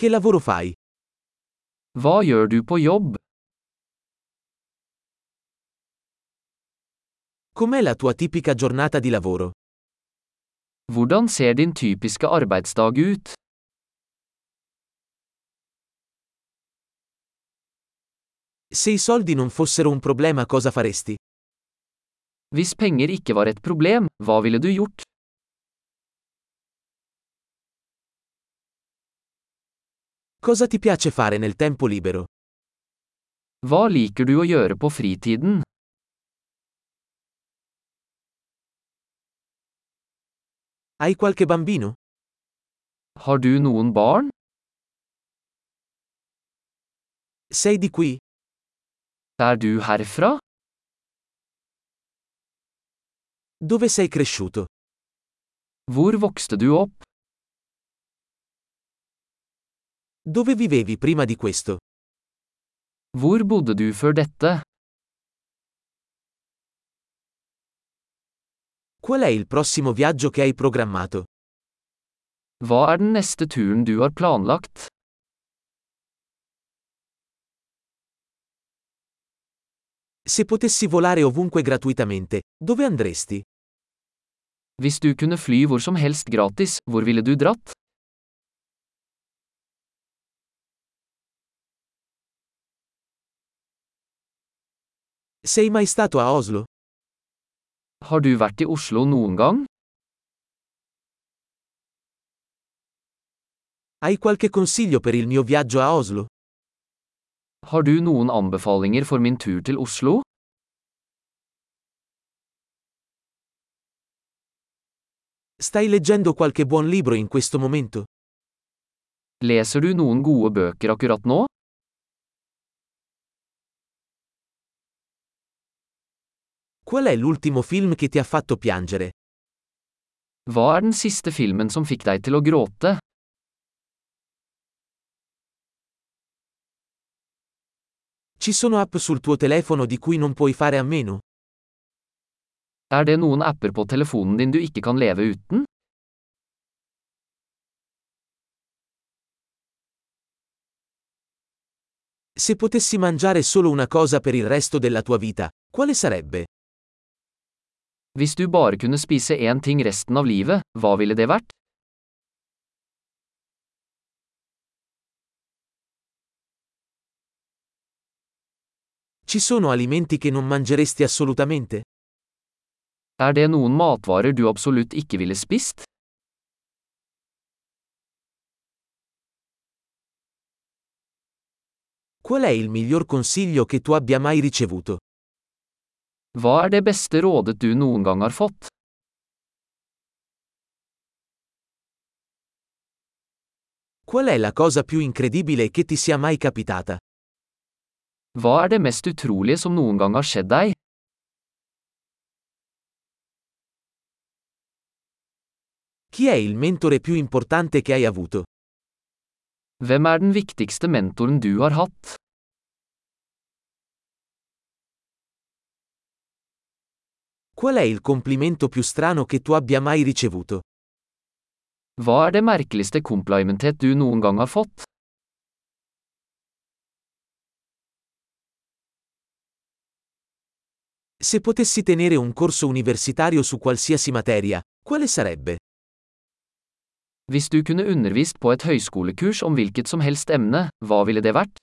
Che lavoro fai? Hva gjør du på jobb? Com'è la tua tipica giornata di lavoro? Hvordan ser din typiske arbeidsdag ut? Se i soldi non fossero un problema, cosa faresti? Hvis penger ikke var et problem, hva ville du gjort? Cosa ti piace fare nel tempo libero? Hva liker du å gjøre på fritiden? Hai qualche bambino? Har du noen barn? Sei di qui? Er du herfra? Dove sei cresciuto? Hvor vokste du opp? Dove vivevi prima di questo? Hvor bodde du før dette? Qual è il prossimo viaggio che hai programmato? Hva er den neste turen du har planlagt? Se potessi volare ovunque gratuitamente, dove andresti? Hvis du kunne fly hvor som helst gratis, hvor ville du dratt? Sei mai stato a Oslo? Har du vært i Oslo noen gang? Hai qualche consiglio per il mio viaggio a Oslo? Har du noen anbefalinger for min tur til Oslo? Stai leggendo qualche buon libro in questo momento? Leser du noen gode bøker akkurat nå? Qual è l'ultimo film che ti ha fatto piangere? Hva er den siste filmen som fikk deg til å gråte? Ci sono app sul tuo telefono di cui non puoi fare a meno? Er det noen apper på telefonen din du ikke kan leve uten? Se potessi mangiare solo una cosa per il resto della tua vita, quale sarebbe? Hvis du bare kunne spise én ting resten av livet, hva ville det vært? Ci sono alimenti che non mangeresti assolutamente? Er det noen matvarer du absolutt ikke ville spist? Qual è il miglior consiglio che tu abbia mai ricevuto? Hva er det beste rådet du noen gang har fått? Qual è la cosa più incredibile che ti sia mai capitata? Hva er det mest utrolige som noen gang har skjedd deg? Chi è il mentore più importante che hai avuto? Hvem er den viktigste mentoren du har hatt? Qual è il complimento più strano che tu abbia mai ricevuto? Hva er det merkeligste komplimentet du noen gang har fått? Se potessi tenere un corso universitario su qualsiasi materia, quale sarebbe? Hvis du kunne undervist på et høyskolekurs om hvilket som helst emne, hva ville det vært?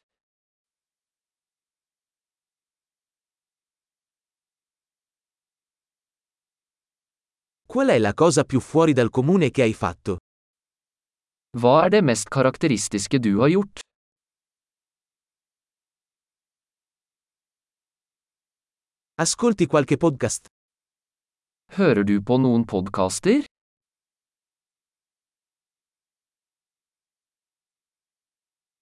Qual è la cosa più fuori dal comune che hai fatto? Hva er det mest karakteristiske du har gjort? Ascolti qualche podcast? Hører du på noen podcaster?